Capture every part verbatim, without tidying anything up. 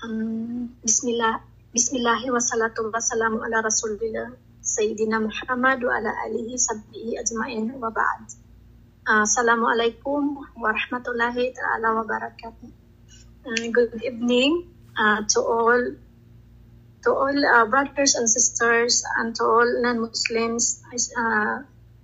Um, Bismillah, Bismillahi wa salatu wa salamu ala Rasulillah Sayyidina Muhammad wa ala alihi sabbihi ajma'in wa ba'd. Uh, Assalamualaikum warahmatullahi ta'ala wabarakatuh. Uh, good evening uh, to all to all uh, brothers and sisters and to all non-Muslims uh,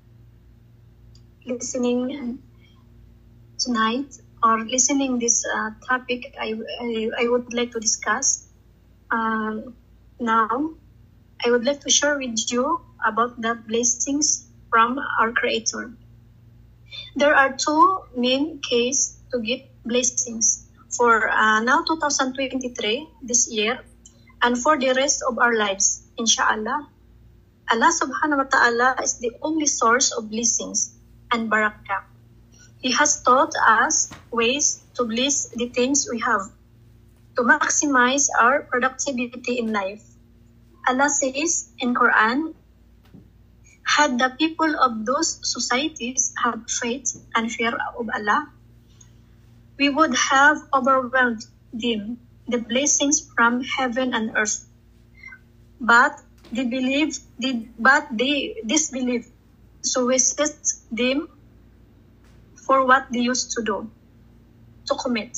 listening tonight or listening this uh, topic I, I, I would like to discuss. Um, now, I would like to share with you about the blessings from our Creator. There are two main cases to get blessings for uh, now two thousand twenty-three, this year, and for the rest of our lives, inshallah. Allah subhanahu wa ta'ala is the only source of blessings and barakah. He has taught us ways to bless the things we have, to maximize our productivity in life. Allah says in Quran, had the people of those societies had faith and fear of Allah, we would have overwhelmed them the blessings from heaven and earth. But they believe, they, but they disbelieve, so we set them for what they used to do, to commit.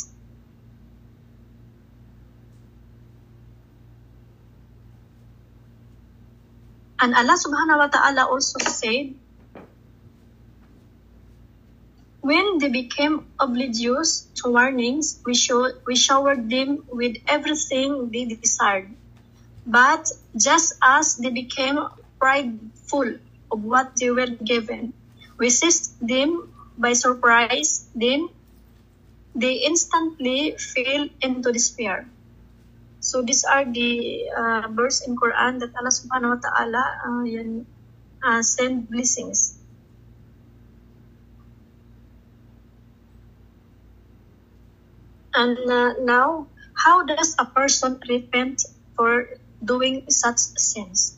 And Allah subhanahu wa ta'ala also said, when they became oblivious to warnings, we, show, we showered them with everything they desired. But just as they became prideful of what they were given, we seized them by surprise, then they instantly fell into despair. So these are the uh, verse in Quran that Allah subhanahu wa ta'ala uh, uh, send blessings. And uh, now, how does a person repent for doing such sins?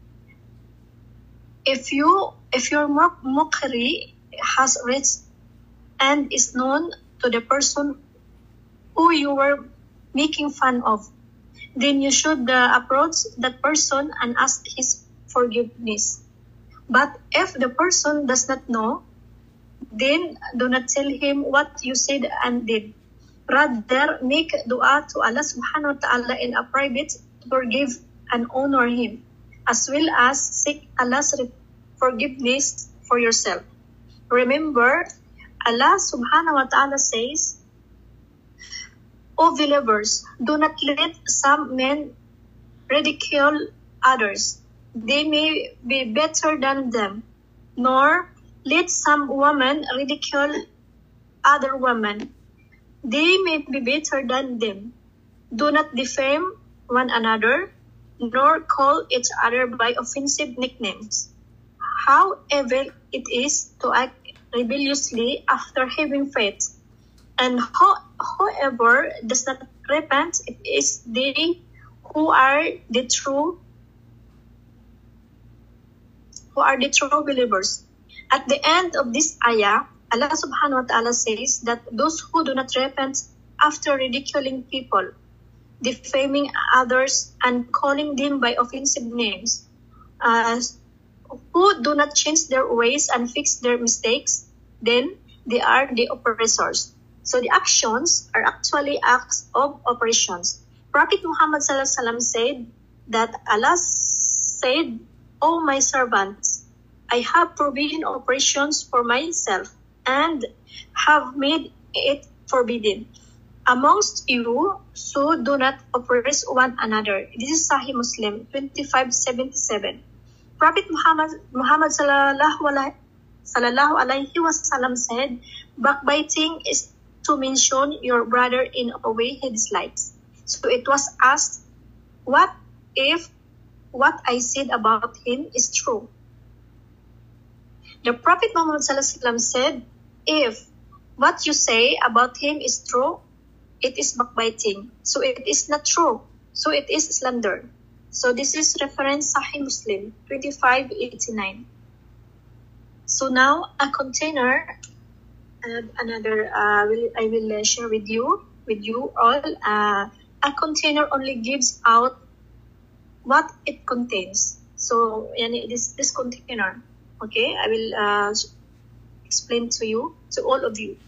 If you, if your mockery has reached and is known to the person who you were making fun of, then you should uh, approach that person and ask his forgiveness. But if the person does not know, then do not tell him what you said and did. Rather, make dua to Allah subhanahu wa ta'ala in a private to forgive and honor him, as well as seek Allah's forgiveness for yourself. Remember, Allah subhanahu wa ta'ala says, O believers, do not let some men ridicule others. They may be better than them. Nor let some women ridicule other women. They may be better than them. Do not defame one another, nor call each other by offensive nicknames. How evil it is to act rebelliously after having faith. And ho- whoever does not repent, it is they who are the true who are the true believers. At the end of this ayah, Allah subhanahu wa ta'ala says that those who do not repent after ridiculing people, defaming others, and calling them by offensive names, uh, who do not change their ways and fix their mistakes, then they are the oppressors. So the actions are actually acts of operations. Prophet Muhammad sallallahu alaihi wasallam said that Allah said, O my servants, I have forbidden operations for myself and have made it forbidden amongst you, so do not oppress one another. This is Sahih Muslim twenty-five seventy-seven. Prophet Muhammad Muhammad sallallahu alaihi wasallam said, backbiting is to mention your brother in a way he dislikes. So it was asked, what if what I said about him is true? The Prophet Muhammad said, if what you say about him is true, it is backbiting. So it is not true. So it is slander. So this is reference Sahih Muslim twenty-five eighty-nine. So now a container and another uh, will, I will uh, share with you with you all uh, a container only gives out what it contains. So, yani, this this container, okay, I will uh, explain to you, to all of you.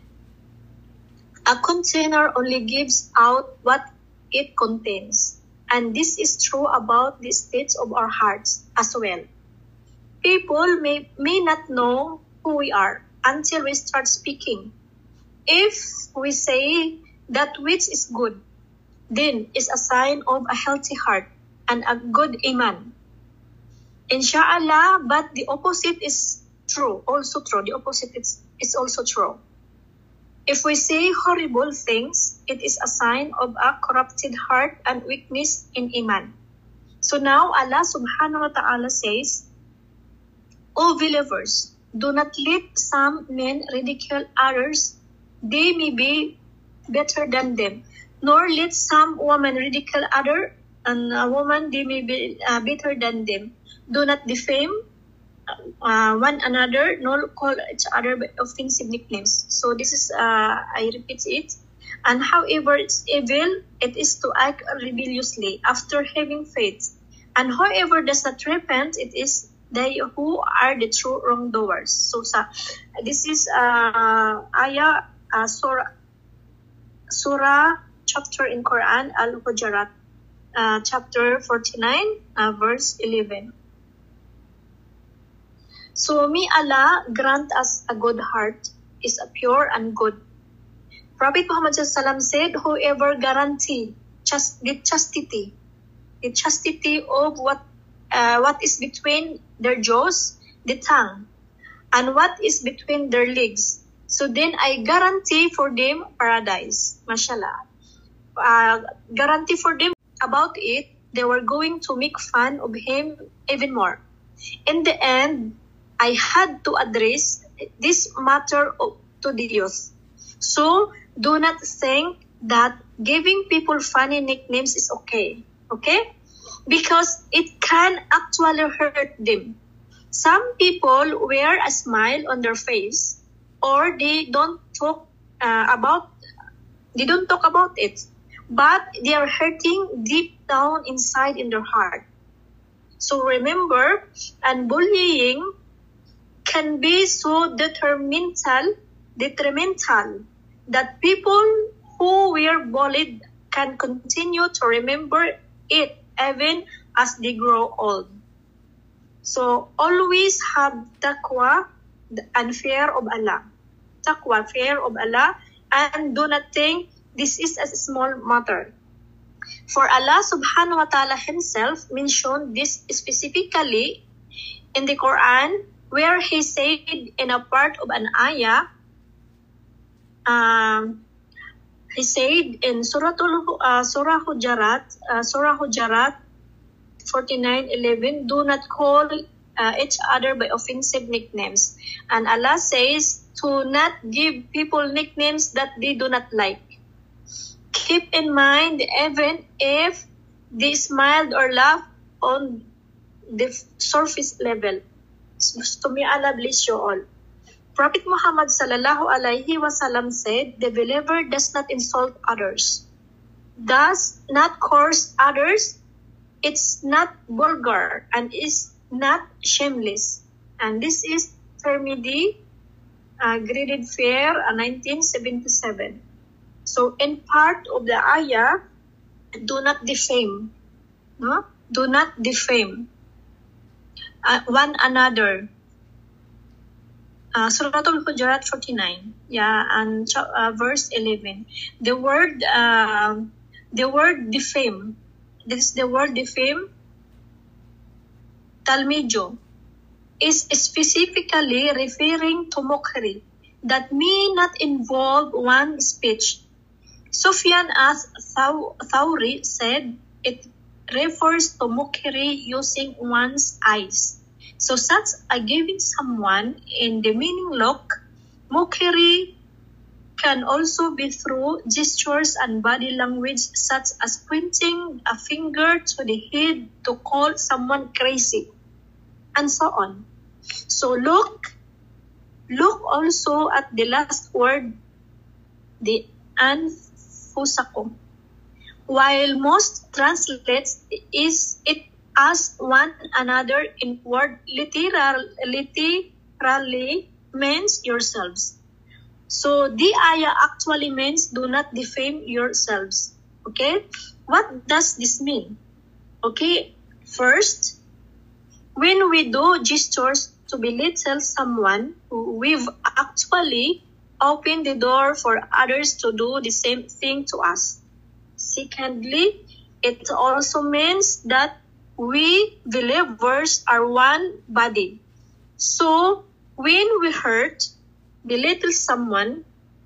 A container only gives out what it contains, and this is true about the states of our hearts as well. People may, may not know who we are until we start speaking. If we say that which is good, then is a sign of a healthy heart and a good iman. Inshallah, but the opposite is true, also true. The opposite is, is also true. If we say horrible things, it is a sign of a corrupted heart and weakness in iman. So now Allah subhanahu wa ta'ala says, O believers, do not let some men ridicule others. They may be better than them. Nor let some women ridicule other, and a woman they may be uh, better than them. Do not defame uh, one another, nor call each other by offensive nicknames. So this is, uh, I repeat it. And however it's evil, it is to act rebelliously after having faith. And whoever does not repent, it is they who are the true wrongdoers. So sa, this is uh, ayah, uh, surah, surah chapter in Quran, Al-Hujurat, uh, chapter forty-nine, uh, verse eleven. So may Allah grant us a good heart, is a pure and good. Prophet Muhammad sallallahu alaihi wasallam said, whoever guarantee just the chastity, the chastity of what uh, what is between their jaws, the tongue, and what is between their legs, so then I guarantee for them paradise. Mashallah. Uh, guarantee for them about it, they were going to make fun of him even more. In the end, I had to address this matter to the youth. So do not think that giving people funny nicknames is okay, okay? Because it can actually hurt them. Some people wear a smile on their face, or they don't talk uh, about, they don't talk about it, but they are hurting deep down inside in their heart. So remember, and bullying can be so detrimental, detrimental that people who were bullied can continue to remember it even as they grow old. So always have taqwa and fear of Allah. Taqwa, fear of Allah, and do not think this is a small matter. For Allah subhanahu wa ta'ala himself mentioned this specifically in the Quran, where he said in a part of an ayah, um, he said in Surah uh, Surah Hujurat, uh, Surah Hujurat forty-nine eleven, do not call uh, each other by offensive nicknames. And Allah says to not give people nicknames that they do not like. Keep in mind, even if they smiled or laughed on the surface level. So may Allah bless you all. Prophet Muhammad sallallahu alaihi wasallam said, the believer does not insult others, does not curse others, it's not vulgar, and is not shameless. And this is Tirmidhi, uh, graded fair, uh, nineteen seventy-seven. So in part of the ayah, do not defame, no? Do not defame uh, one another. Uh, Surah Al-Hujurat forty-nine, yeah, and uh, verse eleven. The word, uh, the word defame. This is the word defame. Talmijo is specifically referring to mockery that may not involve one's speech. Sufyan as-Thawri said it refers to mockery using one's eyes. So such a giving someone in the meaning look, mockery can also be through gestures and body language such as pointing a finger to the head to call someone crazy, and so on. So look, look also at the last word, the anfusakum. while most translates is it as one another in word literal, literally means yourselves. So the ayah actually means do not defame yourselves. Okay, what does this mean? Okay, first, when we do gestures to belittle someone, we've actually opened the door for others to do the same thing to us. Secondly, it also means that we believers are one body. So when we hurt, belittle someone,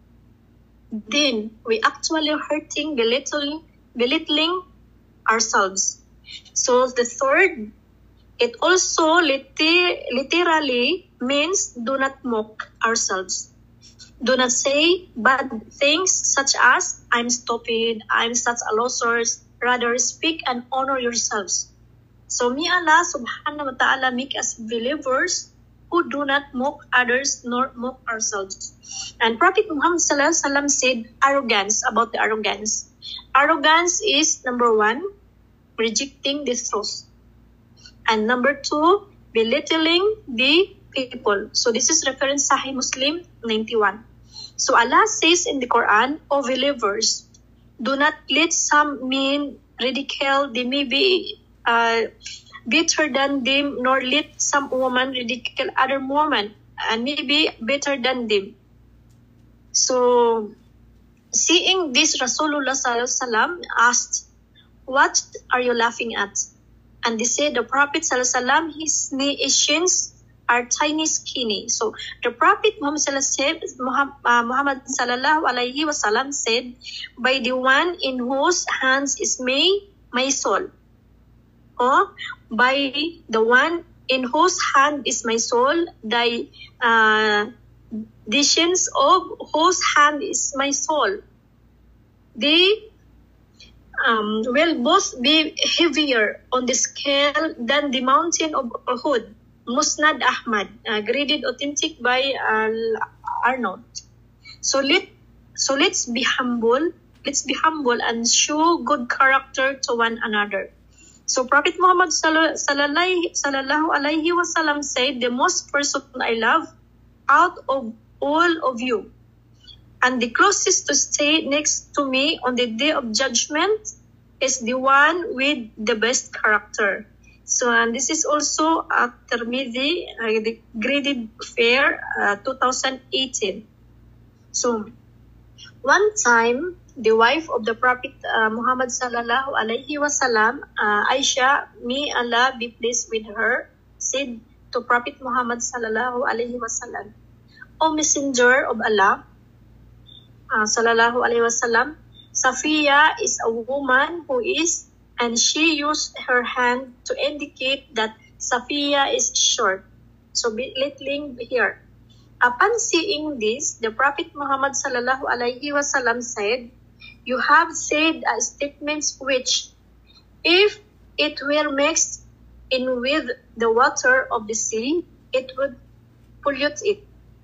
then we actually hurting, belittling, belittling ourselves. So the third, it also liter- literally means do not mock ourselves. Do not say bad things such as, I'm stupid, I'm such a loser. Rather, speak and honor yourselves. So, may Allah subhanahu wa ta'ala make us believers who do not mock others nor mock ourselves. And Prophet Muhammad sallallahu alaihi wasallam said arrogance, about the arrogance. Arrogance is, number one, rejecting the truth. And number two, belittling the people. So this is reference Sahih Muslim ninety-one. So Allah says in the Quran, O believers, do not let some men ridicule, they may be uh, better than them, nor let some woman ridicule other woman and may be better than them. So seeing this, Rasulullah sallallahu alaihi wasallam asked, what are you laughing at? And they said, the Prophet sallallahu alaihi wasallam, his nations are tiny, skinny. So the Prophet Muhammad sallallahu alaihi wasallam said, by the one in whose hands is my, my soul, or by the one in whose hand is my soul, the uh, decisions of whose hand is my soul, they um, will both be heavier on the scale than the mountain of Uhud. Musnad Ahmad, uh, graded authentic by uh, Arnold. So let so let's be humble. Let's be humble and show good character to one another. So Prophet Muhammad sallallahu alaihi wasallam said, the most person I love out of all of you, and the closest to stay next to me on the day of judgment, is the one with the best character. So, and this is also at Tirmidhi, uh, the graded fair, uh, two thousand eighteen. So, one time, the wife of the Prophet uh, Muhammad sallallahu alaihi wasallam, uh, Aisha, may Allah be pleased with her, said to Prophet Muhammad sallallahu alaihi wasallam, O Messenger of Allah, uh, sallallahu alaihi wasallam, Safiya is a woman who is, and she used her hand to indicate that Safiya is short. So belittling here. Upon seeing this, the Prophet Muhammad sallallahu alaihi wasallam said, you have said uh, statements which, if it were mixed in with the water of the sea, it would pollute it.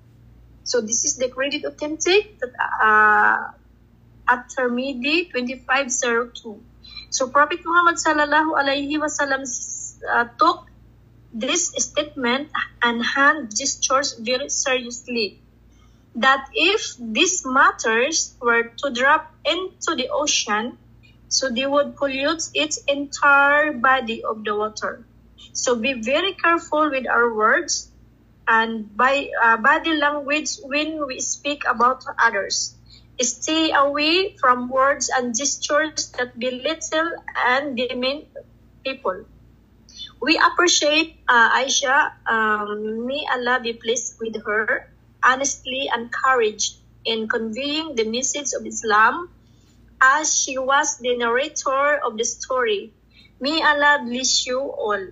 So this is the graded authentic that uh, at Tirmidhi twenty-five oh two. So Prophet Muhammad sallallahu alaihi wasallam uh, took this statement and hand gestures very seriously. That if these matters were to drop into the ocean, so they would pollute its entire body of the water. So be very careful with our words and by uh, body language when we speak about others. Stay away from words and gestures that belittle and demean people. We appreciate uh, Aisha, um, may Allah be pleased with her, honestly and courage in conveying the message of Islam, as she was the narrator of the story. May Allah bless you all.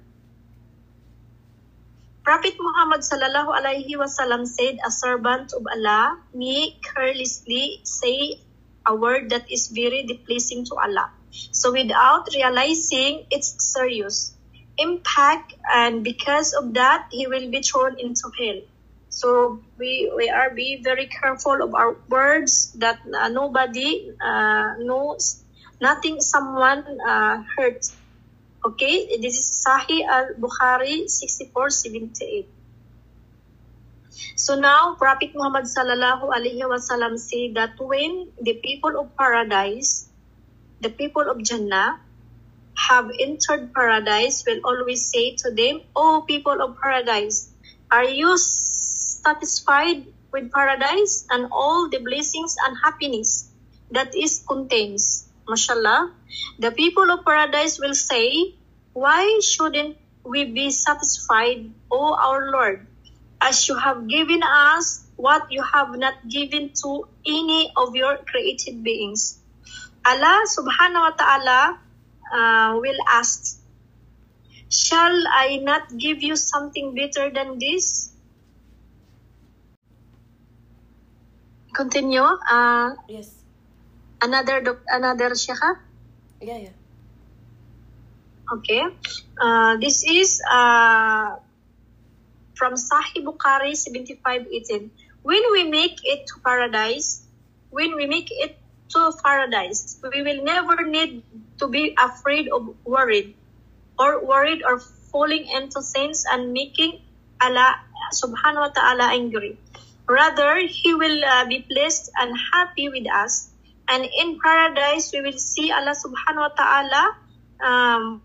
Prophet Muhammad sallallahu alaihi wasallam said, a servant of Allah may carelessly say a word that is very displeasing to Allah, so without realizing its serious impact, and because of that, he will be thrown into hell. So we we are be very careful of our words, that uh, nobody uh, knows nothing someone uh, hurt. Okay, this is Sahih al-Bukhari sixty-four seventy-eight. So now Prophet Muhammad sallallahu alaihi wasallam said that when the people of paradise, the people of Jannah, have entered paradise, will always say to them, "O people of paradise, are you satisfied with paradise and all the blessings and happiness that is contains?" Mashallah. The people of paradise will say, "Why shouldn't we be satisfied, O our Lord, as you have given us what you have not given to any of your created beings?" Allah subhanahu wa ta'ala uh, will ask, "Shall I not give you something better than this?" Continue. Uh, yes. Another doc- another Sheikha? Yeah, yeah. Okay. Uh, this is uh, from Sahih Bukhari seventy-five eighteen. When we make it to paradise, when we make it to paradise, we will never need to be afraid of worried or worried or falling into sins and making Allah subhanahu wa ta'ala angry. Rather, He will uh, be pleased and happy with us. And in paradise, we will see Allah subhanahu wa ta'ala um,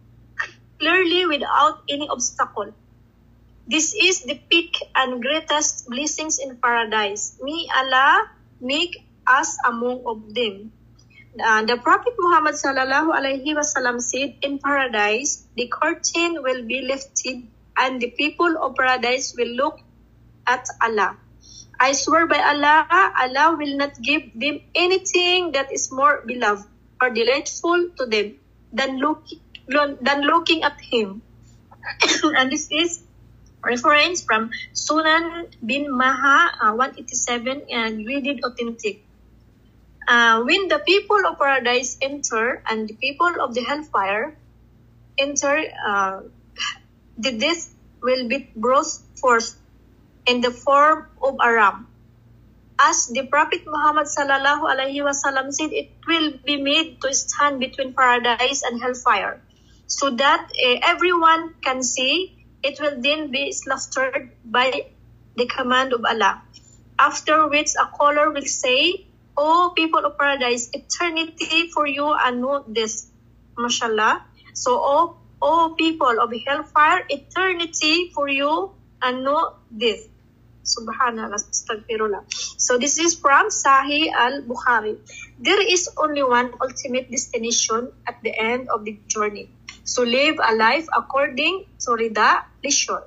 clearly without any obstacle. This is the peak and greatest blessings in paradise. May Allah make us among of them. Uh, the Prophet Muhammad sallallahu alaihi wasallam said, in paradise, the curtain will be lifted and the people of paradise will look at Allah. I swear by Allah, Allah will not give them anything that is more beloved or delightful to them than, look, than looking at Him. And this is reference from Sunan bin Maha uh, one eighty-seven and read it authentic. Uh, when the people of paradise enter and the people of the hellfire enter, uh, the death will be brought forth in the form of a ram. As the Prophet Muhammad sallallahu alaihi wasallam said, it will be made to stand between paradise and hellfire, so that uh, everyone can see. It will then be slaughtered by the command of Allah. After which a caller will say, "O people of paradise, eternity for you and not this." Mashallah. So, O, O people of hellfire, eternity for you and not this. Subhanallah, astaghfirullah. So this is from Sahih al-Bukhari. There is only one ultimate destination at the end of the journey. So live a life according to Rida, pleasure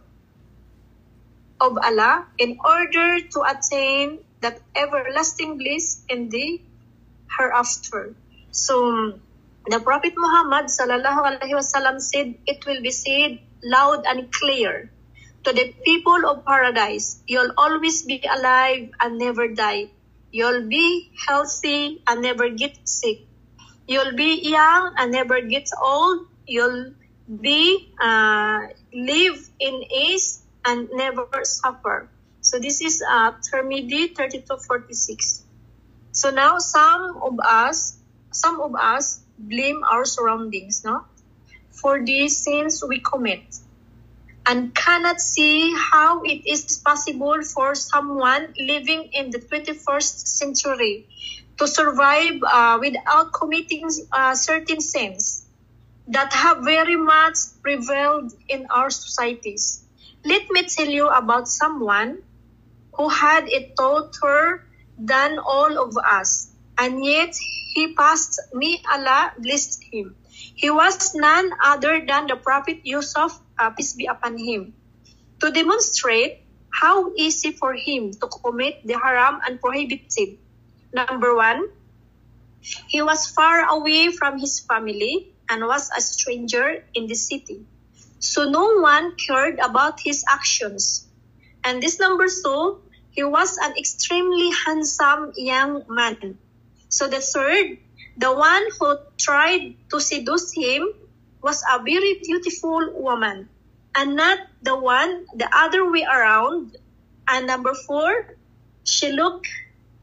of Allah, in order to attain that everlasting bliss in the hereafter. So the Prophet Muhammad sallallahu alaihi wasallam said, it will be said loud and clear to the people of paradise, "You'll always be alive and never die. You'll be healthy and never get sick. You'll be young and never get old. You'll be uh, live in ease and never suffer." So this is uh, Tirmidhi thirty-two forty-six. So now some of us, some of us blame our surroundings, no, for the sins we commit, and cannot see how it is possible for someone living in the twenty-first century to survive uh, without committing uh, certain sins that have very much prevailed in our societies. Let me tell you about someone who had it tougher than all of us, and yet he passed. May Allah bless him. He was none other than the Prophet Yusuf, uh, peace be upon him, to demonstrate how easy for him to commit the haram and prohibited. Number one, he was far away from his family and was a stranger in the city, so no one cared about his actions. And this number two, he was an extremely handsome young man. So the third, the one who tried to seduce him was a very beautiful woman, and not the one the other way around. And number four, she looked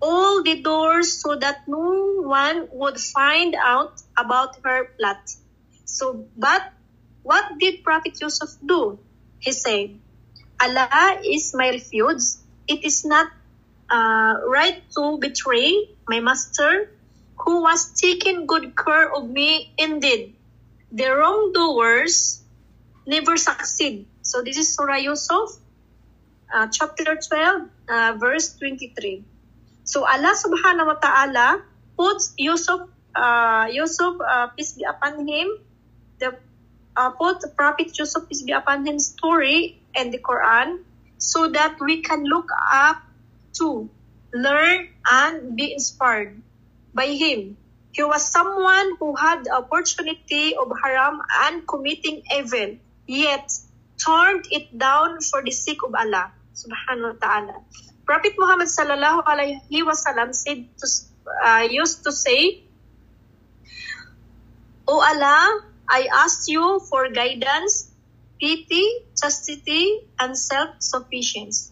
all the doors so that no one would find out about her plot. So, but what did Prophet Yusuf do? He said, Allah is my refuge. It is not uh, right to betray my master, who was taking good care of me. Indeed, the wrongdoers never succeed. So this is Surah Yusuf, uh, chapter twelve, uh, verse twenty-three. So Allah subhanahu wa ta'ala puts Yusuf, uh, Yusuf, uh, peace be upon him, the uh, put Prophet Yusuf, peace be upon him, story in the Quran, so that we can look up to, learn, and be inspired by him. He was someone who had the opportunity of haram and committing evil, yet turned it down for the sake of Allah subhanahu wa ta'ala. Prophet Muhammad sallallahu alaihi wasallam said to, uh, used to say, O Allah, I ask you for guidance, pity, chastity, and self-sufficiency.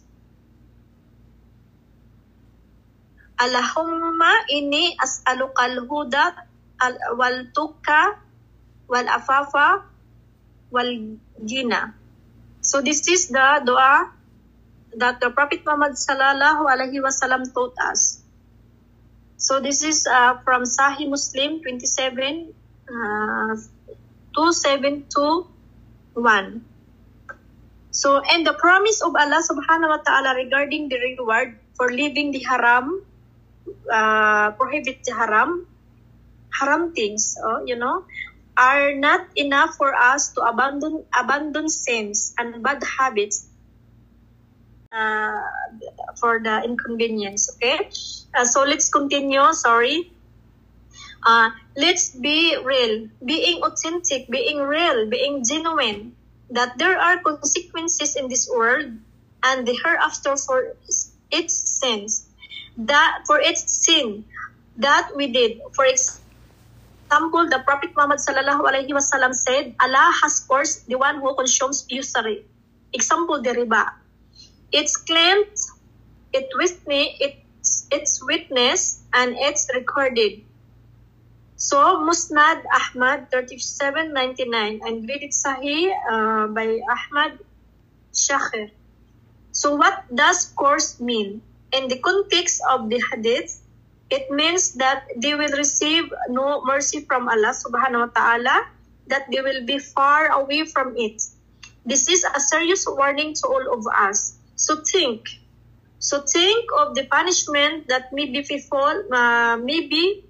Allahumma inni as'aluka al-huda wal-tuqa wal-afafa wal-gina. So this is the dua that the Prophet Muhammad sallallahu alaihi wasallam taught us. So this is uh, from Sahih Muslim twenty-seven, uh, two seven two one. So, and the promise of Allah subhanahu wa ta'ala regarding the reward for leaving the haram, uh, prohibit the haram, haram things, oh, you know, are not enough for us to abandon abandon sins and bad habits uh, for the inconvenience. Okay, uh, so let's continue. Sorry. Uh, let's be real, being authentic, being real, being genuine, that there are consequences in this world and the hereafter for its sins, that for its sin that we did. For example, the Prophet Muhammad sallallahu alaihi wasallam said, Allah has cursed the one who consumes usury. Example, the riba. It's claimed, it witness, it's, it's witness, and it's recorded. So, Musnad Ahmad thirty-seven ninety-nine, and read it Sahih uh, by Ahmad Shakir. So, what does curse mean? In the context of the hadith, it means that they will receive no mercy from Allah subhanahu wa ta'ala, that they will be far away from it. This is a serious warning to all of us. So think. So think of the punishment that may be befall, uh, maybe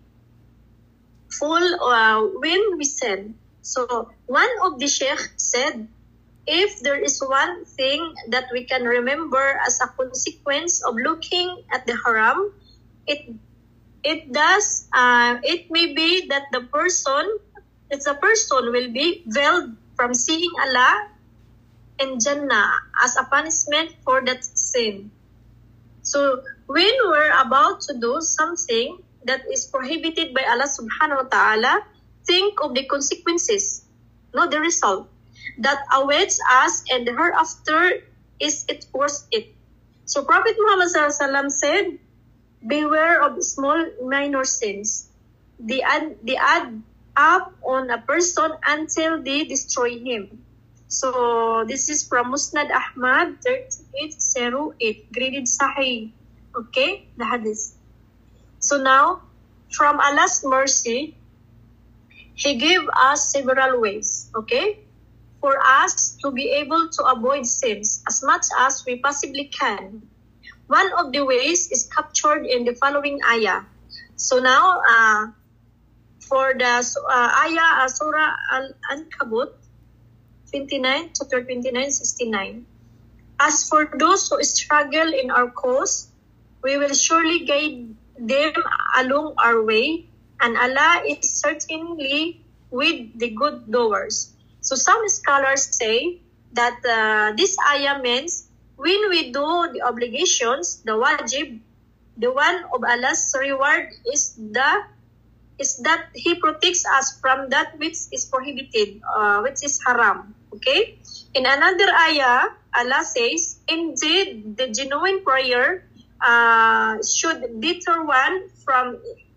full uh, when we sin. So one of the sheikh said, if there is one thing that we can remember as a consequence of looking at the haram, it it does uh, it may be that the person, it's a person will be veiled from seeing Allah in Jannah as a punishment for that sin. So when we're about to do something that is prohibited by Allah subhanahu wa ta'ala, think of the consequences, not the result, that awaits us, and hereafter is it worth it. So Prophet Muhammad sallallahu alaihi wasallam said, beware of small minor sins. They add, they add up on a person until they destroy him. So this is from Musnad Ahmad thirty-eight oh eight, graded Sahih. Okay, the hadith. So now, from Allah's mercy, He gave us several ways, okay, for us to be able to avoid sins as much as we possibly can. One of the ways is captured in the following ayah. So now, uh, for the uh, ayah, uh, Surah Al-Ankabut, twenty-nine, chapter twenty-nine, sixty-nine. As for those who struggle in our cause, we will surely guide them along our way, and Allah is certainly with the good doers. So some scholars say that uh, this ayah means when we do the obligations, the wajib, the one of Allah's reward is the is that He protects us from that which is prohibited, uh, which is haram. Okay. In another ayah, Allah says, indeed, the genuine prayer uh, should deter one from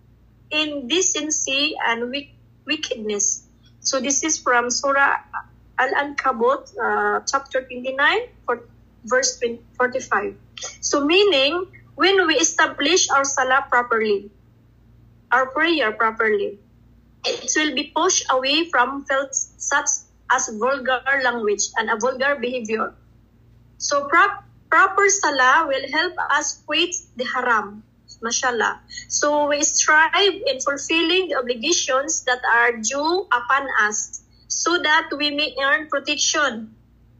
indecency and wick- wickedness. So this is from Surah Al-Ankabut, uh, chapter twenty-nine, for verse forty-five. So meaning, when we establish our salah properly, our prayer properly, it will be pushed away from felt such as vulgar language and a vulgar behavior. So prop, proper salah will help us quit the haram, mashallah. So we strive in fulfilling the obligations that are due upon us, so that we may earn protection,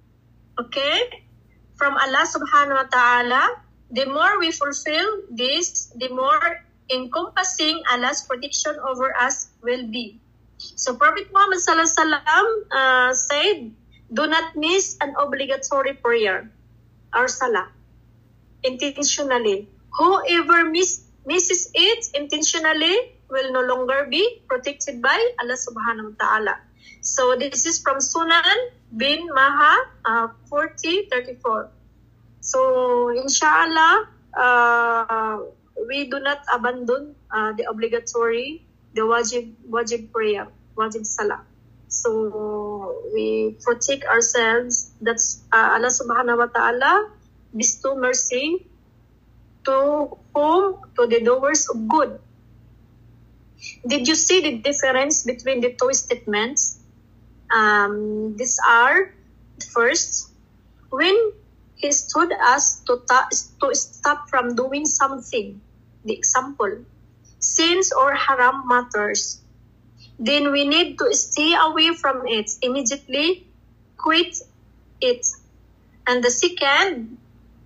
okay, from Allah subhanahu wa ta'ala. The more we fulfill this, the more encompassing Allah's protection over us will be. So Prophet Muhammad sallallahu alaihi wasallam uh, said, do not miss an obligatory prayer, or salah, intentionally. Whoever miss, misses it intentionally will no longer be protected by Allah subhanahu wa ta'ala. So this is from Sunan bin Maha uh, forty thirty-four. So inshallah, uh, we do not abandon uh, the obligatory, the wajib, wajib prayer, wajib salah. So we protect ourselves. That's uh, Allah subhanahu wa ta'ala bestow mercy to whom? To the doers of good. Did you see the difference between the two statements? Um, these are, first, when he stood us to, ta- to stop from doing something, the example, sins or haram matters, then we need to stay away from it, immediately quit it. And the second,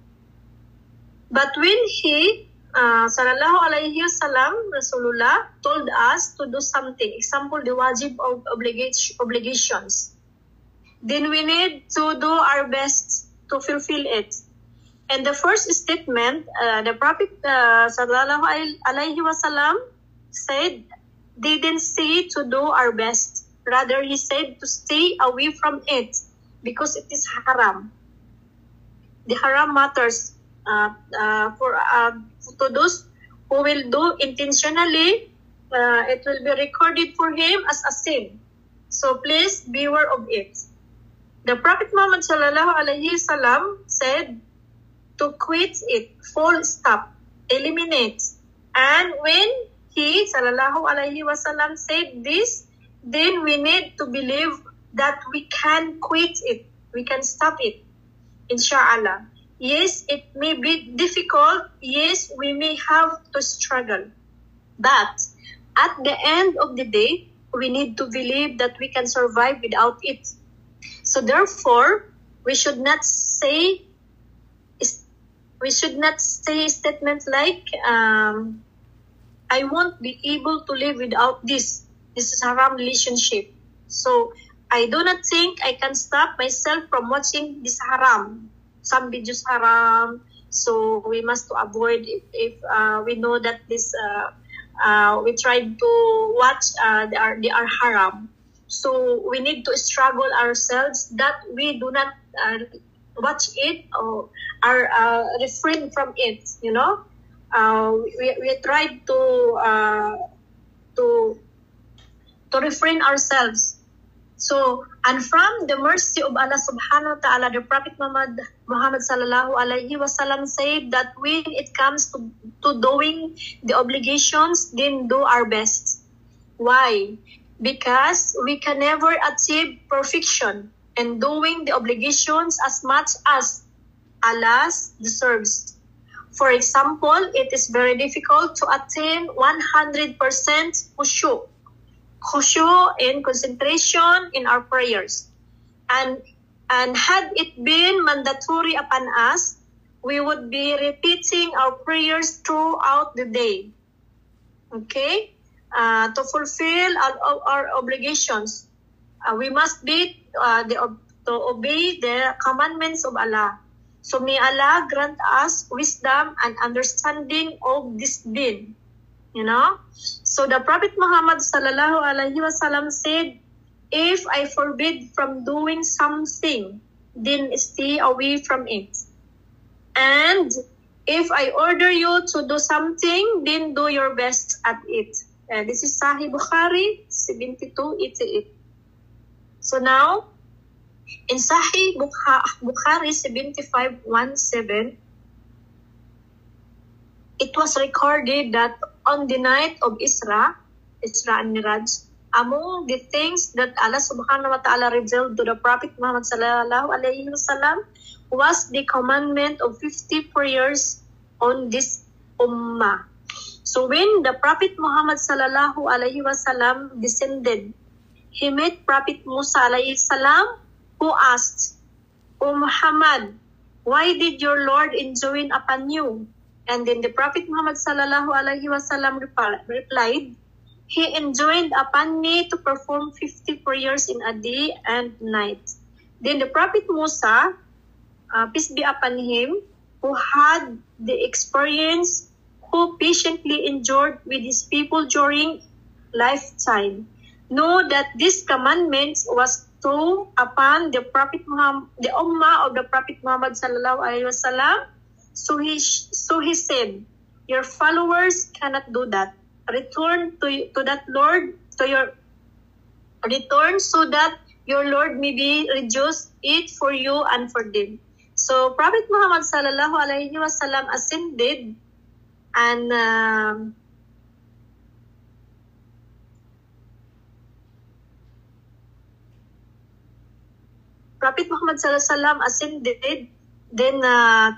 but when he, uh, sallallahu alayhi wasallam, Rasulullah, told us to do something, example, the wajib of obligation, obligations, then we need to do our best to fulfill it. And the first statement, uh, the Prophet uh, sallallahu alayhi wasallam said, didn't say to do our best. Rather, he said to stay away from it because it is haram. The haram matters uh, uh, for uh, to those who will do intentionally. Uh, it will be recorded for him as a sin. So please beware of it. The Prophet Muhammad sallallahu alaihi wasallam said to quit it, full stop, eliminate. And when he sallallahu alaihi wasallam said this, then we need to believe that we can quit it, we can stop it, inshallah. Yes, it may be difficult. Yes, we may have to struggle. But at the end of the day, we need to believe that we can survive without it. So therefore, we should not say we should not say statements like, um, I won't be able to live without this. This is a haram relationship. So I do not think I can stop myself from watching this haram. Some videos haram. So we must avoid if, if uh, we know that this uh, uh, we try to watch uh, they are they are haram. So we need to struggle ourselves that we do not uh, watch it or are uh, refrain from it. You know, uh, we we try to uh, to to refrain ourselves. So, and from the mercy of Allah subhanahu wa ta'ala, the Prophet Muhammad, Muhammad sallallahu alayhi wasallam said that when it comes to, to doing the obligations, then do our best. Why? Because we can never achieve perfection in doing the obligations as much as Allah deserves. For example, it is very difficult to attain one hundred percent khushu'. khushu' in concentration in our prayers. And and had it been mandatory upon us, we would be repeating our prayers throughout the day. Okay? Uh, to fulfill all our obligations, uh, we must be uh, the, to obey the commandments of Allah. So may Allah grant us wisdom and understanding of this deen. You know, so the Prophet Muhammad sallallahu alaihi wasallam said, if I forbid from doing something, then stay away from it. And If I order you to do something, then do your best at it. Uh, this is Sahih Bukhari seventy-two eighty-eight. So now, in Sahih Bukhari seventy-five seventeen, it was recorded that on the night of Isra, Isra and Miraj, among the things that Allah subhanahu wa ta'ala revealed to the Prophet Muhammad sallallahu alayhi wa sallam was the commandment of fifty prayers on this ummah. So when the Prophet Muhammad sallallahu alayhi wa sallam descended, he met Prophet Musa alayhi salam, who asked, "O Muhammad, why did your Lord enjoin upon you?" And then the Prophet Muhammad sallallahu alayhi wa sallam replied, "He enjoined upon me to perform fifty prayers in a day and night." Then the Prophet Musa, uh, peace be upon him, who had the experience, who patiently endured with his people during lifetime, know that this commandment was true upon the Prophet Muhammad, the Ummah of the Prophet Muhammad sallallahu alaihi wasallam. So he so he said, "Your followers cannot do that. Return to to that Lord to your return so that your Lord may be reduced it for you and for them." So Prophet Muhammad sallallahu alaihi wasallam ascended, and um, Prophet Muhammad sallallahu alaihi wasallam ascended. Then uh,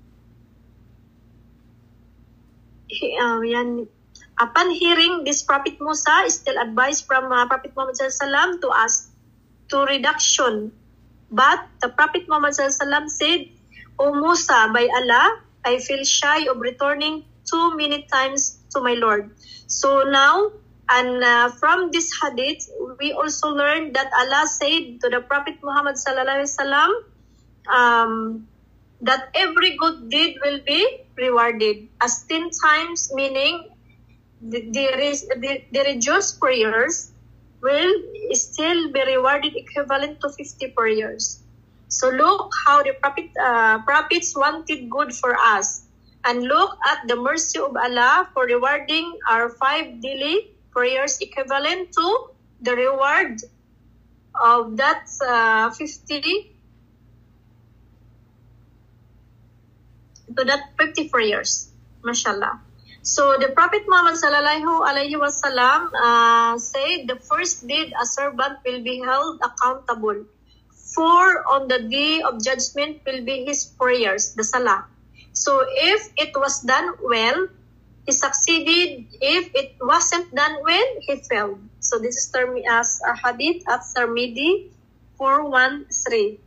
he, uh, yan, upon hearing this, Prophet Musa is still advised from uh, Prophet Muhammad sallallahu alaihi wasallam to ask to reduction. But the Prophet Muhammad sallallahu alaihi wasallam said, "O Musa, by Allah, I feel shy of returning too many times to my Lord." So now, and uh, from this hadith, we also learned that Allah said to the Prophet Muhammad sallallahu alaihi wasallam um, that every good deed will be rewarded as ten times, meaning the, the, the, the reduced prayers will still be rewarded equivalent to fifty prayers. So look how the prophet, uh, prophets wanted good for us. And look at the mercy of Allah for rewarding our five daily prayers equivalent to the reward of that uh, fifty to that fifty prayers. MashaAllah. So the Prophet Muhammad sallallahu alaihi wasallam uh, said, "The first deed a servant will be held accountable for on the day of judgment will be his prayers, the salah. So if it was done well, he succeeded. If it wasn't done well, he failed." So this is term as a hadith at Tirmidhi four one three.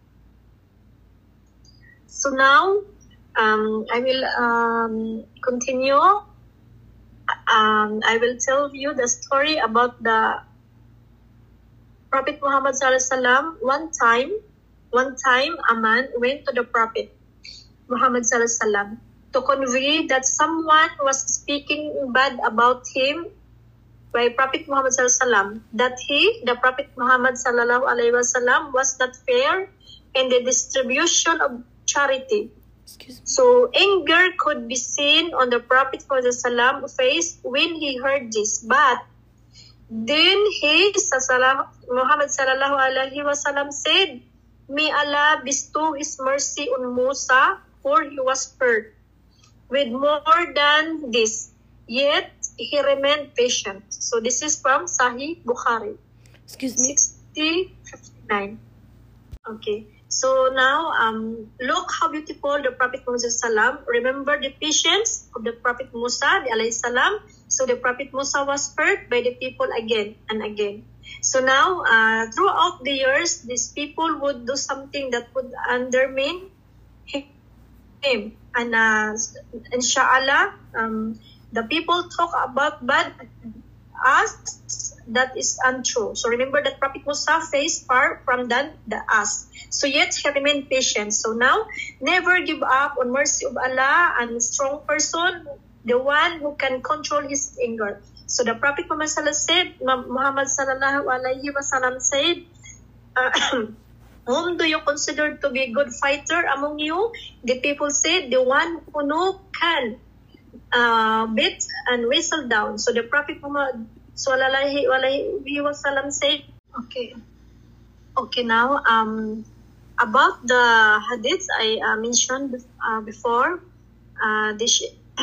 So now um, I will um, continue. Um, I will tell you the story about the Prophet Muhammad sallallahu alaihi wasallam. One time, one time a man went to the Prophet Muhammad sallallahu alaihi wasallam to convey that someone was speaking bad about him by Prophet Muhammad sallallahu alaihi wasallam, that he, the Prophet Muhammad sallallahu alaihi wasallam, was not fair in the distribution of charity. So anger could be seen on the Prophet Muhammad sallallahu alaihi wasallam's face when he heard this. But then he, Muhammad sallallahu alaihi wasallam, said, "May Allah bestow His mercy on Musa, for he was hurt with more than this, yet he remained patient." So this is from Sahih Bukhari. Excuse me. sixty fifty-nine. Okay. So now, um, look how beautiful the Prophet Muhammad sallam. Remember the patience of the Prophet Musa alayhi salam. So the Prophet Musa was hurt by the people again and again. So now, uh, throughout the years, these people would do something that would undermine him. And uh, inshallah, um, the people talk about bad us, that is untrue. So remember that Prophet Musa faced far from than the us. So yet he remained patient. So now, never give up on mercy of Allah, and strong person, the one who can control his anger. So the Prophet Muhammad said, Muhammad sallallahu alaihi wasallam said, uh, Whom do you consider to be a good fighter among you? The people said, the one who know can uh, beat and whistle down. So the Prophet Muhammad sallallahu alaihi wasallam said, okay, okay now um about the hadith I uh, mentioned uh, before, uh, this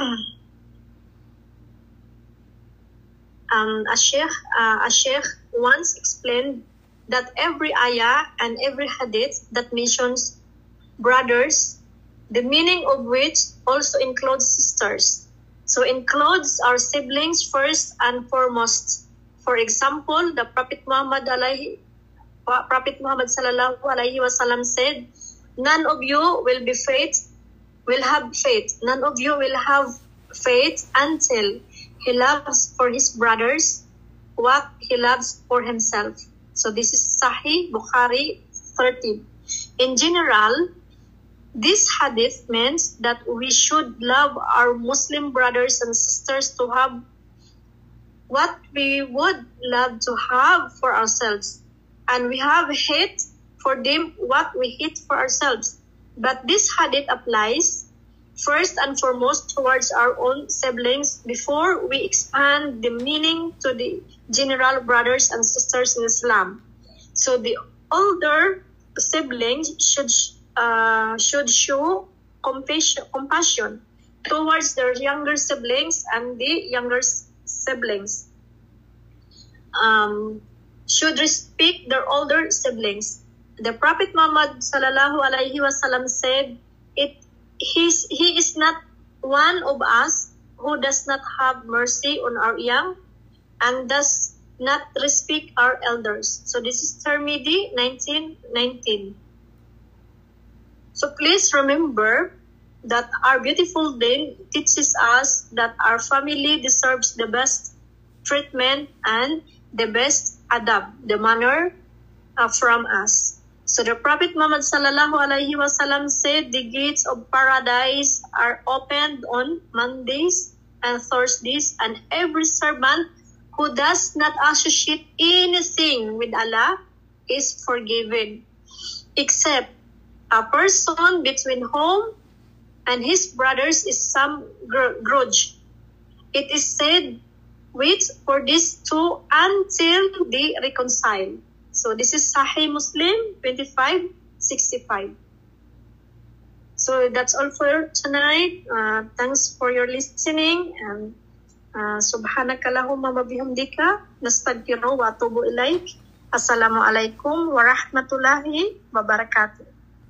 um a sheikh uh, a sheikh once explained that every ayah and every hadith that mentions brothers, the meaning of which also includes sisters. So includes our siblings first and foremost. For example, the Prophet Muhammad alaihi Prophet Muhammad sallallahu alaihi wasallam said, none of you will be faith, will have faith. None of you will have faith until he loves for his brothers what he loves for himself. So this is Sahih Bukhari thirty. In general, this hadith means that we should love our Muslim brothers and sisters to have what we would love to have for ourselves. And we have hate for them what we hate for ourselves. But this hadith applies first and foremost towards our own siblings before we expand the meaning to the general brothers and sisters in Islam. So the older siblings should uh, should show compassion, compassion towards their younger siblings, and the younger siblings um, should respect their older siblings. The Prophet Muhammad sallallahu alaihi wasallam said, "It he's, he is not one of us who does not have mercy on our young and does not respect our elders." So this is Tirmidhi nineteen nineteen. So please remember that our beautiful deen teaches us that our family deserves the best treatment and the best adab, the manner uh, from us. So the Prophet Muhammad sallallahu alaihi wasallam said, the gates of paradise are opened on Mondays and Thursdays, and every servant who does not associate anything with Allah is forgiven, except a person between whom and his brothers is some grudge. It is said, wait for these two until they reconcile. So this is Sahih Muslim twenty-five sixty-five. So that's all for tonight. Uh, thanks for your listening, and uh, subhanaka Allahumma wa bihamdika nastaghfiruka wa atubu ilaik. Assalamualaikum warahmatullahi wabarakatuh.